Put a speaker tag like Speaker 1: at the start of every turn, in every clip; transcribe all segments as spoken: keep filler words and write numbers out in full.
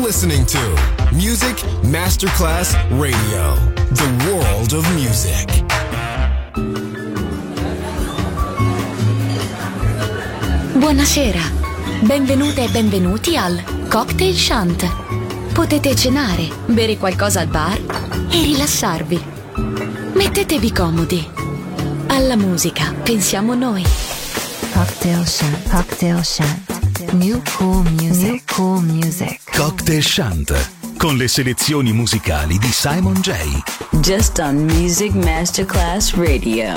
Speaker 1: listening to Music Masterclass Radio, the world of music.
Speaker 2: Buonasera, benvenute e benvenuti al Cocktail Shant. Potete cenare, bere qualcosa al bar e rilassarvi. Mettetevi comodi. Alla musica pensiamo noi.
Speaker 3: Cocktail Shant, Cocktail Shant. New cool music, New cool music.
Speaker 4: Cocktail Shant, con le selezioni musicali di Simon J.
Speaker 5: Just on Music Masterclass Radio.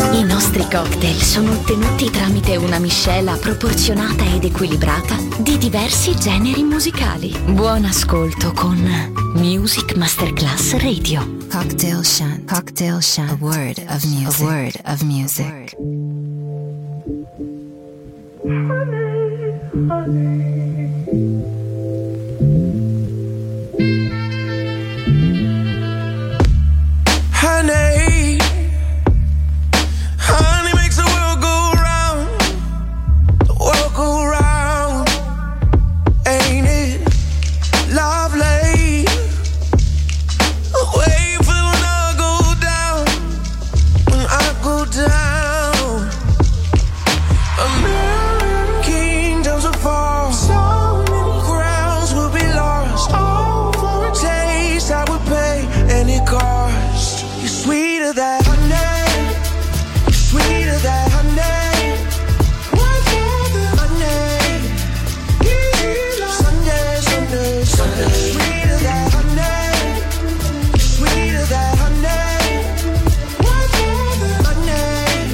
Speaker 2: I nostri cocktail sono ottenuti tramite una miscela proporzionata ed equilibrata di diversi generi musicali. Buon ascolto con Music Masterclass Radio.
Speaker 3: Cocktail Shant. Cocktail Shant. A word of music. A word of music.
Speaker 6: Honey, honey. Honey, honey makes the world go round, the world go round, ain't it lovely? Wait for when I go down, when I go down. A million kingdoms will fall, so many crowns will be lost, all for a taste I would pay any cost. You're sweeter than honey, you're sweeter than honey. What's all the honey? Sunday, Sunday, Sunday. Sweeter than honey, you're sweeter than honey. What's all the honey?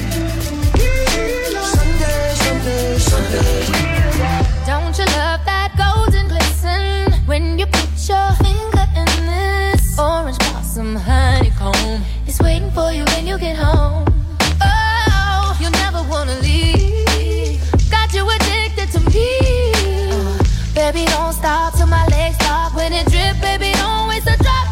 Speaker 6: Sunday, Sunday, Sunday.
Speaker 7: Don't you love that golden glisten when you put your finger in this orange blossom honeycomb? It's waiting for you when you get home. Oh, you'll never wanna leave. Got you addicted to me. Uh, baby, don't stop till my legs stop. When it drip, baby, don't waste a drop.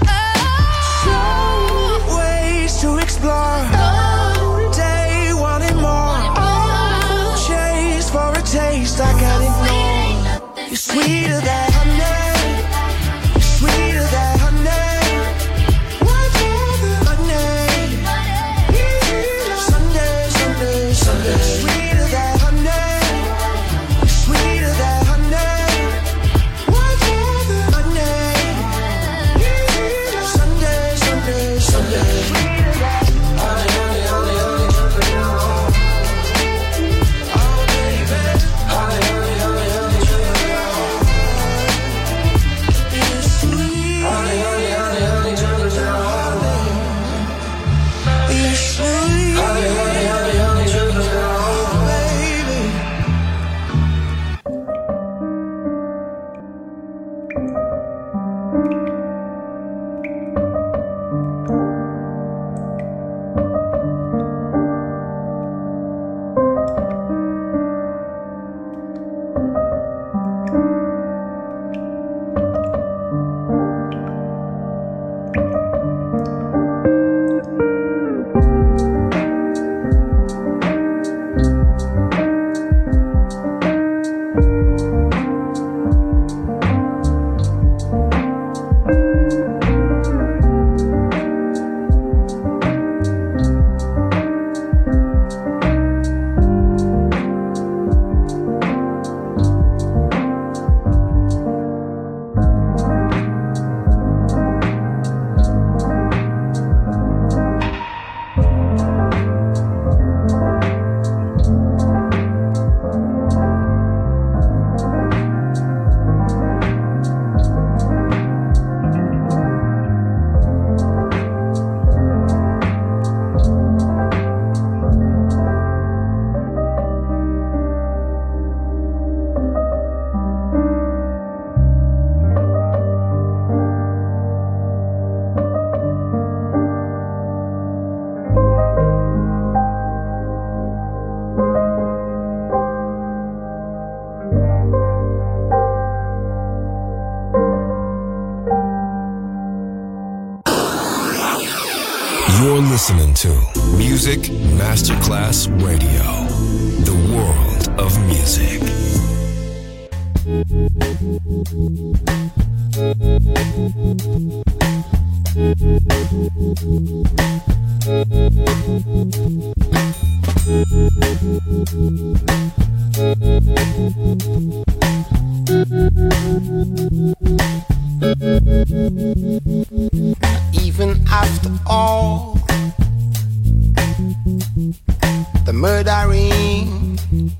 Speaker 7: Oh,
Speaker 6: Ways to explore,
Speaker 7: oh,
Speaker 6: day wanting more.
Speaker 7: oh.
Speaker 6: Chase for a taste I can't ignore. You're sweeter than honey, you're sweeter than honey. What's all the honey? Sunday, Sunday, Sunday. Sweeter than honey, you're sweeter than honey. What's all the honey? Sunday, Sunday, Sunday. Sweeter than honey, honey, honey, honey, honey. Oh baby, honey, honey, honey, honey, honey. You're sweet. Honey, honey, honey, honey, honey, honey. You're sweet. Honey, honey, honey, honey, honey, honey, baby.
Speaker 1: You're listening to Music Masterclass Radio, the world of music.
Speaker 6: Even after all the murdering,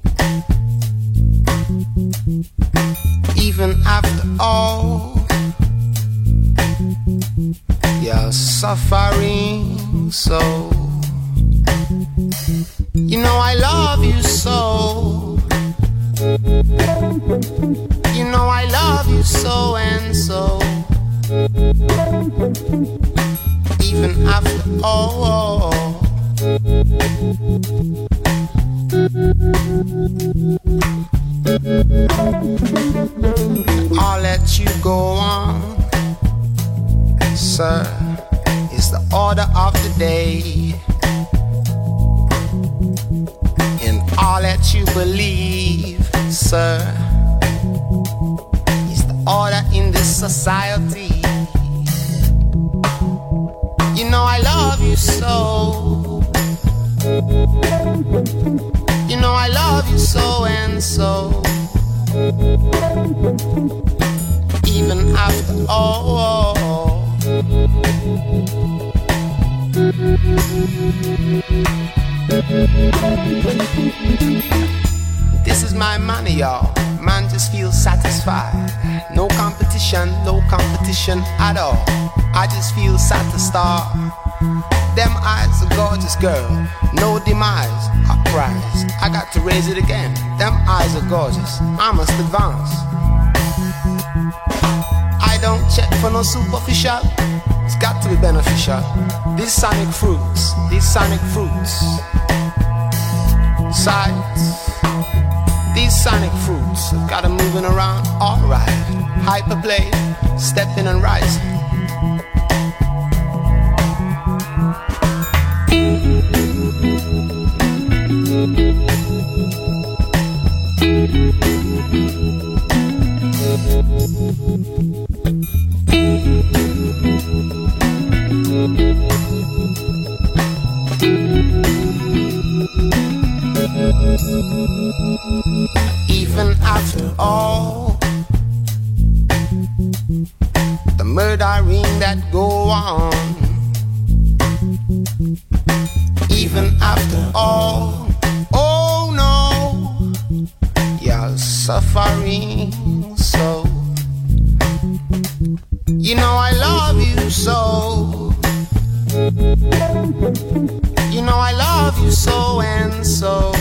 Speaker 6: even after all your suffering, so
Speaker 8: even after all. I'll let you go on, sir, is the order of the day. And I'll let you believe, sir, is the order in this society. You know I love you so. You know I love you so and so. Even after all. This is my money, y'all. Man just feels satisfied. No competition, no competition at all. I just feel satisfied. Them eyes, a gorgeous girl. No demise, a prize. I got to raise it again. Them eyes are gorgeous. I must advance. I don't check for no superficial. It's got to be beneficial. These sonic fruits, these sonic fruits. Sights. These sonic fruits got 'em moving around, alright. Hyperplay, stepping and rising. Even after all the murdering that go on, even after all, oh no, you're suffering so. You know I love you so. You know I love you so and so.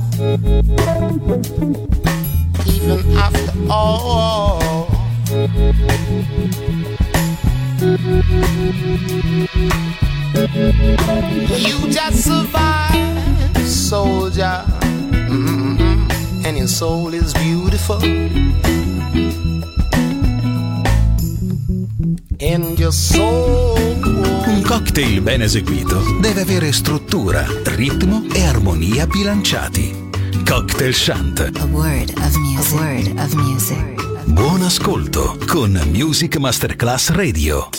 Speaker 8: Even after all. You just survived, soldier. Mm-mm-mm. And your soul is beautiful. And your soul.
Speaker 4: Un cocktail ben eseguito deve avere struttura, ritmo e armonia bilanciati. Cocktail Shant.
Speaker 3: A word of music. A word of music.
Speaker 4: Buon ascolto con Music Masterclass Radio.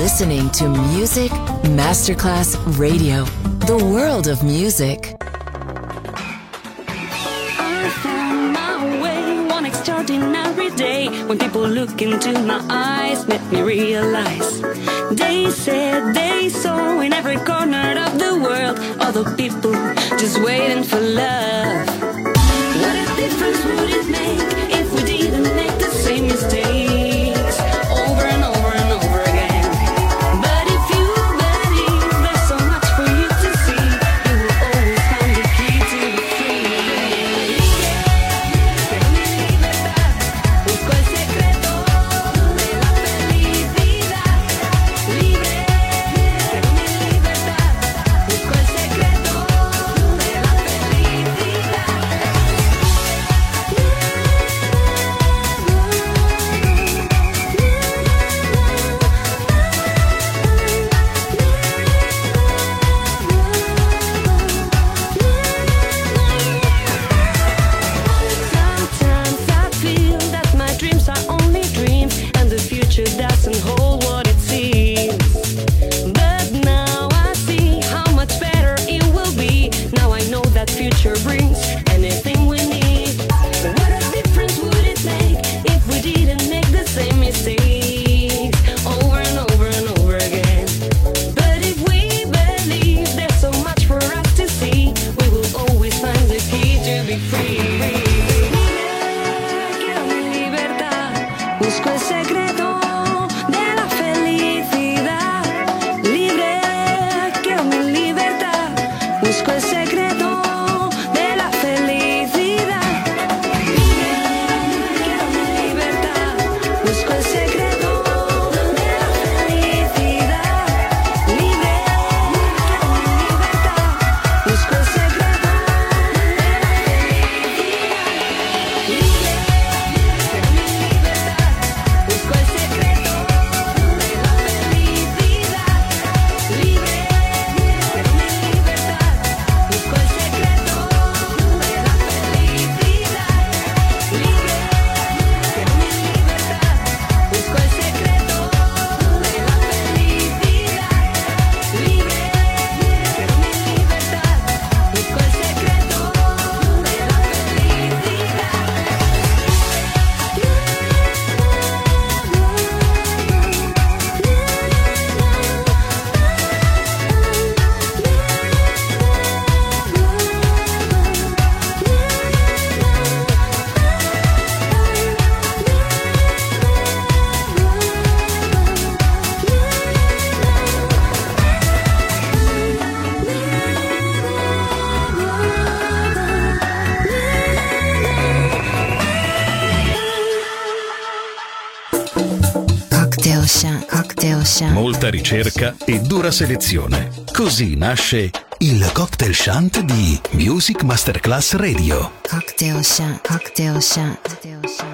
Speaker 9: listening to Music Masterclass Radio, the world of music.
Speaker 10: I found my way one extraordinary day when people look into my eyes, made me realize. They said they saw in every corner of the world other people just waiting for love. What a difference would it make if we didn't make the same mistakes over and over and over again? But if you believe there's so much for you to see, you will always find the key to be free. Busco el secreto de la felicidad. Libre, con mi libertad. Busco el secreto de la felicidad. Sometimes I feel that my dreams are only dreams and the future doesn't hold what it seems. But now I see how much better it will be. Now I know that future brings anything we need. What a difference would it make if we didn't make the same mistakes over and over and over again? But if we believe there's so much for us to see, we will always find the key to be free. Quiero mi libertad, busco el secreto de la felicidad. Libre, quiero mi libertad, busco el secreto de la felicidad. Libre, quiero mi libertad, busco el secreto de la felicidad. Libre, quiero mi libertad, busco el secreto de la felicidad. Libre, quiero mi libertad, busco el secreto de la felicidad. Libre, quiero mi libertad, busco el secreto de la felicidad. Libre, quiero mi libertad, busco el secreto de la felicidad. Libre, quiero mi libertad, busco el secreto de la
Speaker 3: Cocktail Shant, Cocktail Shant.
Speaker 4: Molta ricerca e dura selezione. Così nasce il Cocktail Shant di Music Masterclass Radio.
Speaker 3: Cocktail Shant, Cocktail Shant, Cocktail Shant.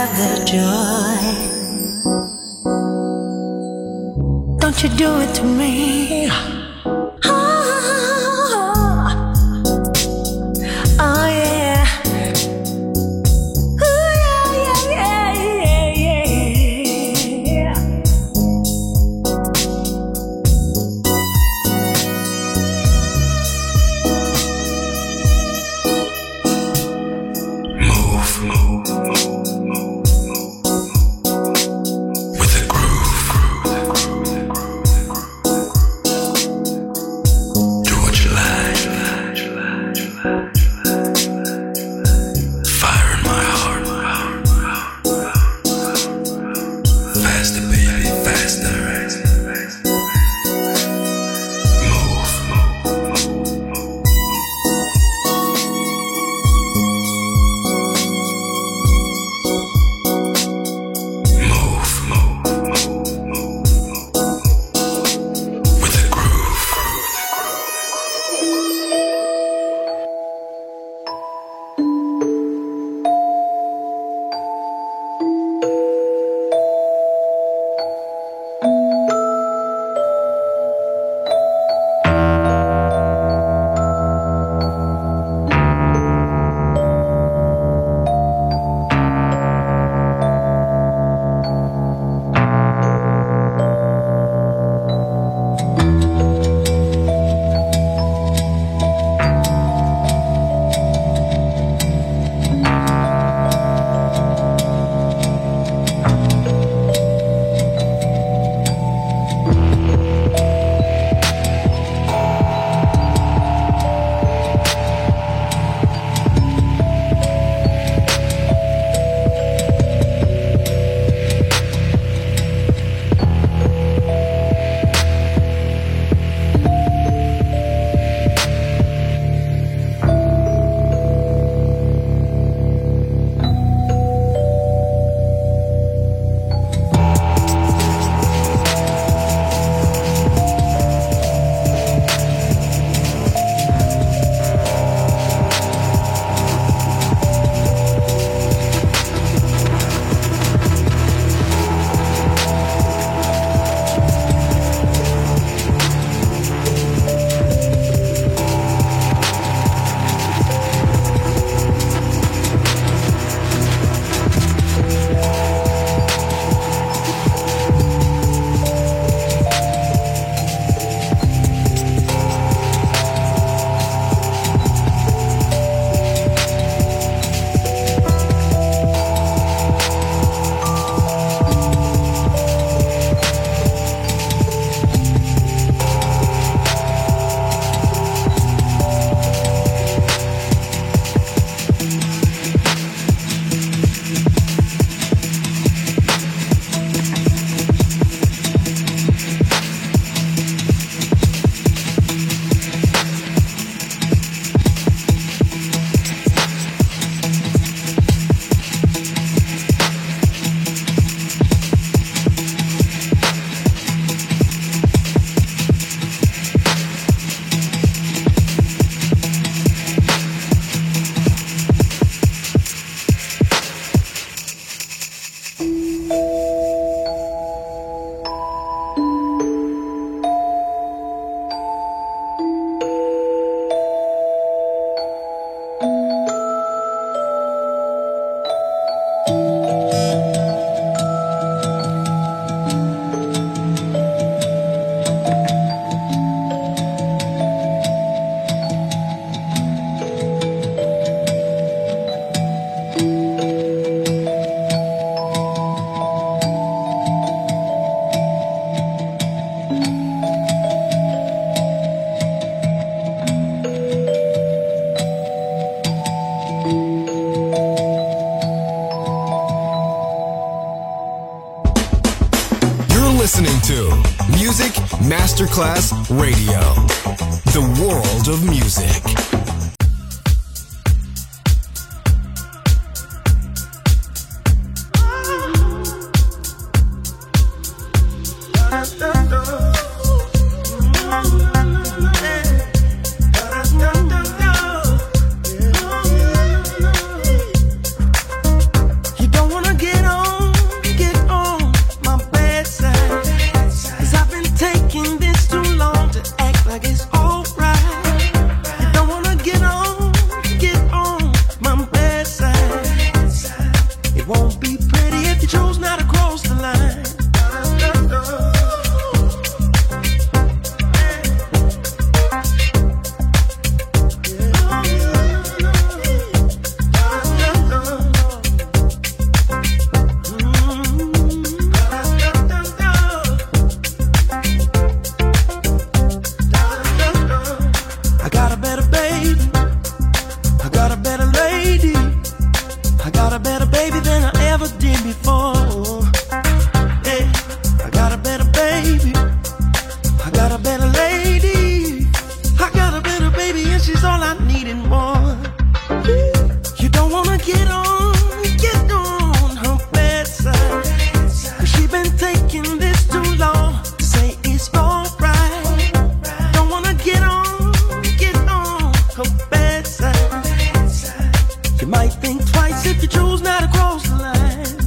Speaker 11: have the joy. Don't you do it to me. Oh, oh yeah. Ooh, yeah, yeah, yeah, yeah, yeah.
Speaker 12: Move, move, move. With a groove. Do what you like. Fire in my heart. Faster, baby, faster. Move, with a groove.
Speaker 1: listening to Music Masterclass Radio, the world of music.
Speaker 6: You don't wanna get baby. I got a better lady. I got a better baby than I ever did before. Yeah, I got a better baby. I got a better lady. I got a better baby and she's all I need and more. You don't wanna get on, get on her bedside, 'cause she been taking this too long to say it's alright. Don't wanna get on, get on her bedside. You might think twice if you choose not to cross the line.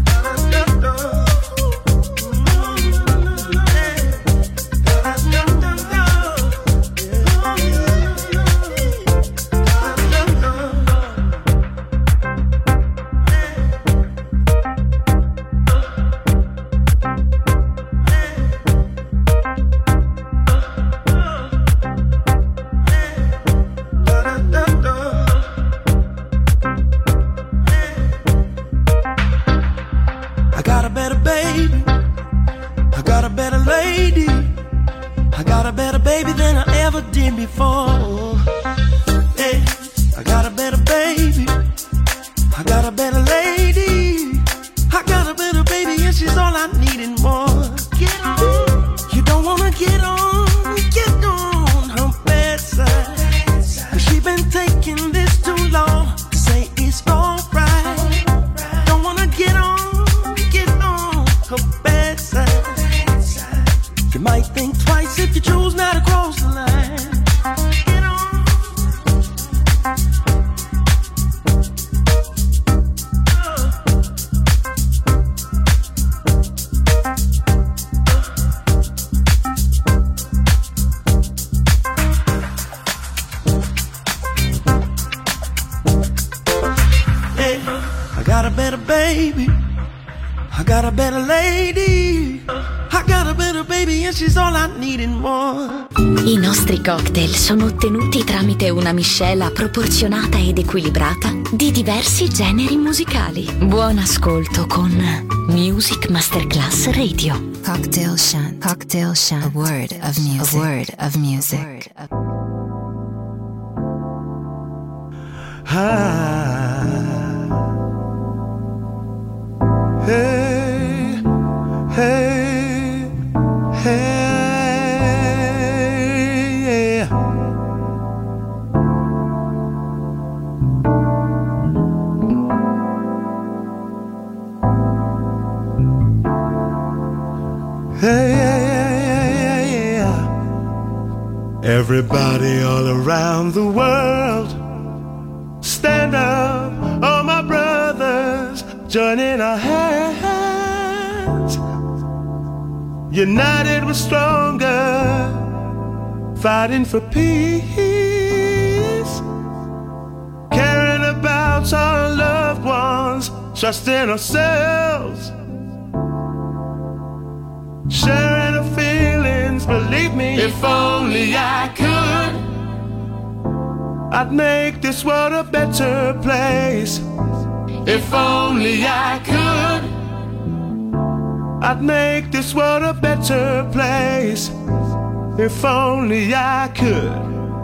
Speaker 6: I got a better baby. I got a better lady. I got a better baby than I ever did before. Yeah, I got a better baby. I got a better lady. I got a better baby and she's all I need and more. Get on. You don't wanna get on, get on her bedside, 'cause she been taking this too long to say it's alright. Don't wanna get on, get on her bedside. You might think twice if you choose not to cross the line. Get on. I got a better baby. I got a better lady. I got a better baby and she's all I need and more.
Speaker 2: I nostri cocktail sono ottenuti tramite una miscela proporzionata ed equilibrata di diversi generi musicali. Buon ascolto con Music Masterclass Radio.
Speaker 3: Cocktail Shant. Cocktail Shant. A word of music. A word of music.
Speaker 6: Ah. Hey, hey, hey, yeah. Hey, yeah, yeah, yeah, yeah. Everybody all around the world, stand up, all my brothers, joining our hands. United we're stronger, fighting for peace, caring about our loved ones, trusting ourselves, sharing our feelings, believe me. If only I could, I'd make this world a better place. If only I could, I'd make this world a better place. If only I could.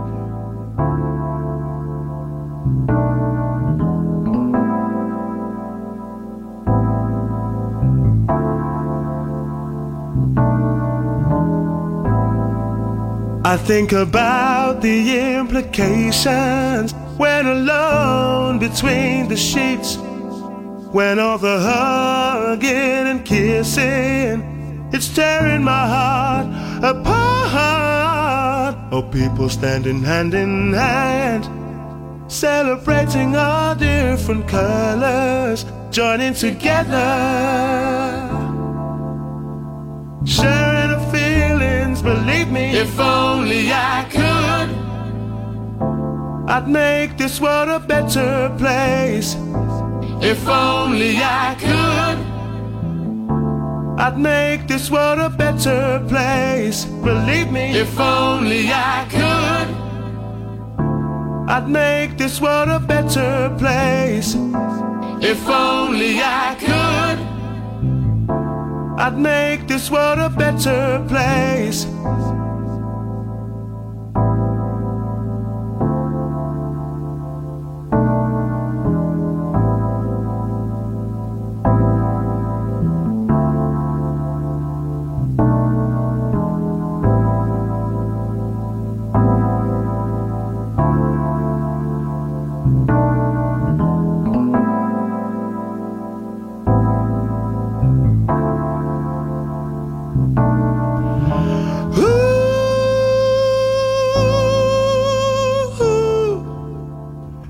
Speaker 6: I think about the implications when alone between the sheets, when all the hugging and kissing, it's tearing my heart apart. Oh, people standing hand in hand, celebrating our different colors, joining together, sharing our feelings, believe me. If only I could, I'd make this world a better place. If only I could, I'd make this world a better place. Believe me. If only I could, I'd make this world a better place. If only I could, I'd make this world a better place.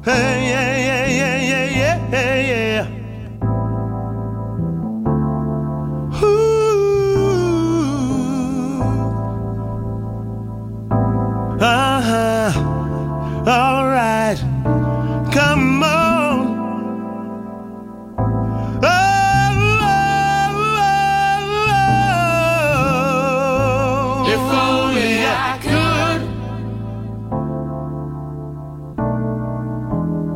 Speaker 6: Hey, yeah, yeah, yeah, yeah, yeah, yeah. Ooh. Uh-huh. All right. Come on. Oh, oh, oh, oh. If only I could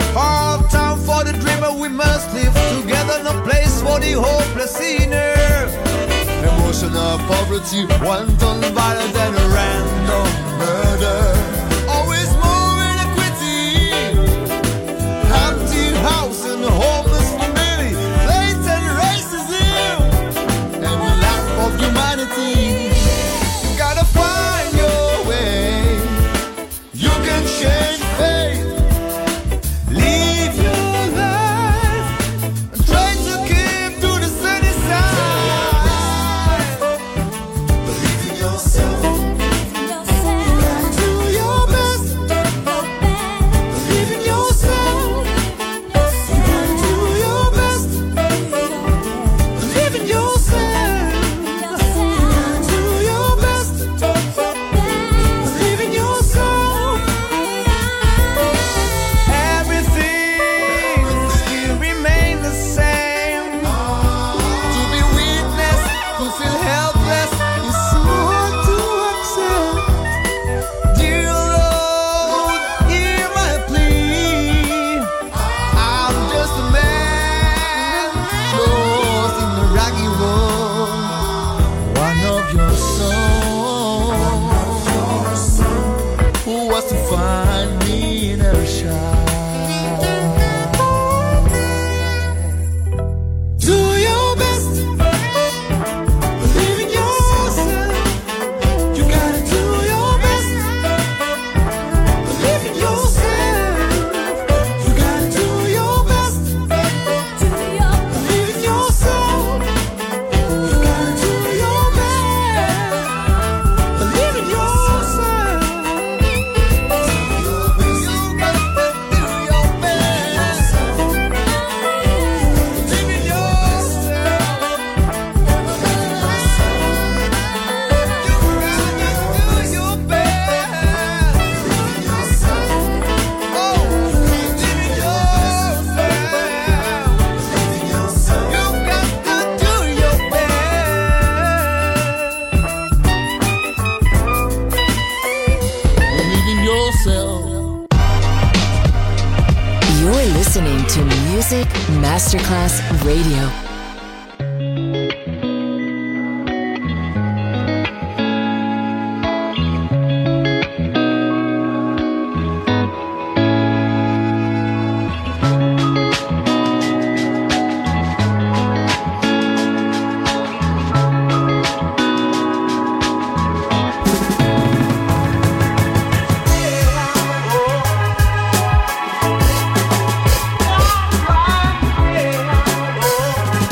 Speaker 6: All time for the dreamer, we must live together. No place for the hopeless sinner. Emotional poverty, one ton violent and a random murder. Always more inequity, empty house and homeless family, blatant racism, and the lack of humanity. You gotta find your way. You can change fate. Live your life and try to keep to the sunny side. Believe in yourself. Do your best. Believe in yourself. You gotta do your best. Believe in yourself. Do your best. Believe in yourself. Everything still remain the same. To be witness, to feel helpless is so hard to accept. Dear Lord, hear my plea. I'm just a man lost in the rocky road. One of your sons who was to find me in a child. Do your best. Believe in yourself. You gotta do your best. Believe in yourself. You gotta do your best. Believe in yourself. You gotta do your best. Believe in yourself.
Speaker 9: You're listening to Music Masterclass Radio.
Speaker 6: Oh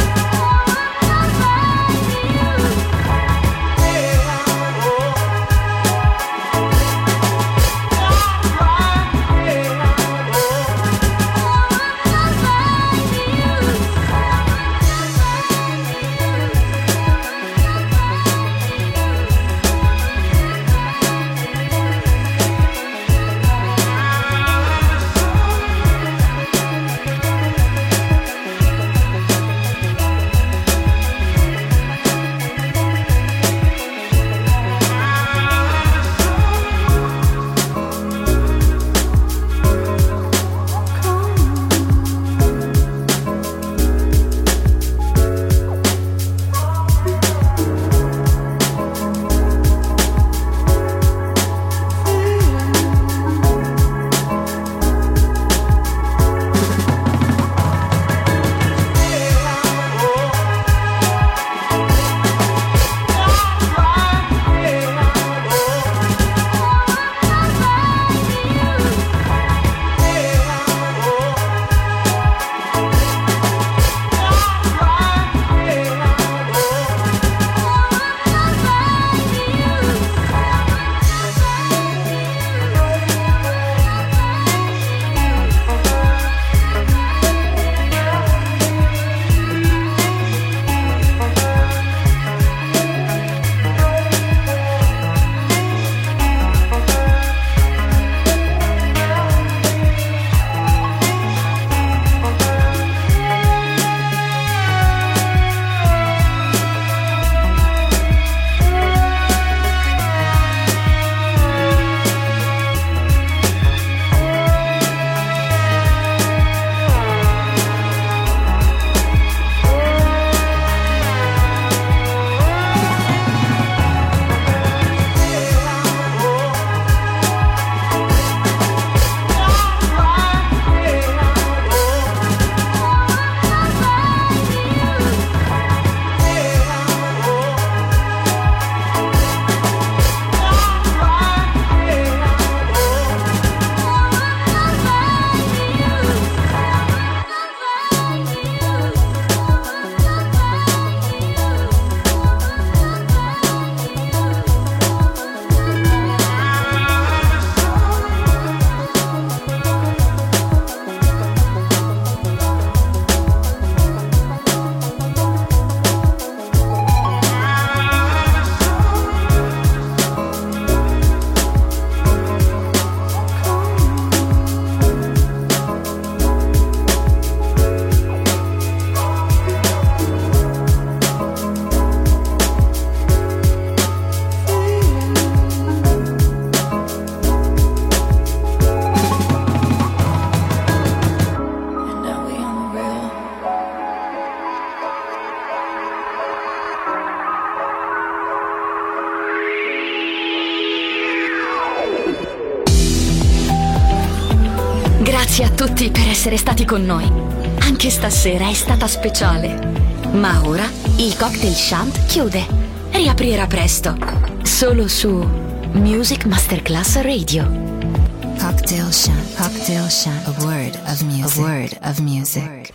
Speaker 2: Grazie a tutti per essere stati con noi. Anche stasera è stata speciale. Ma ora il Cocktail Shant chiude. Riaprirà presto. Solo su Music Masterclass Radio.
Speaker 3: Cocktail Shant. Cocktail Shant. A word of music. A word of music.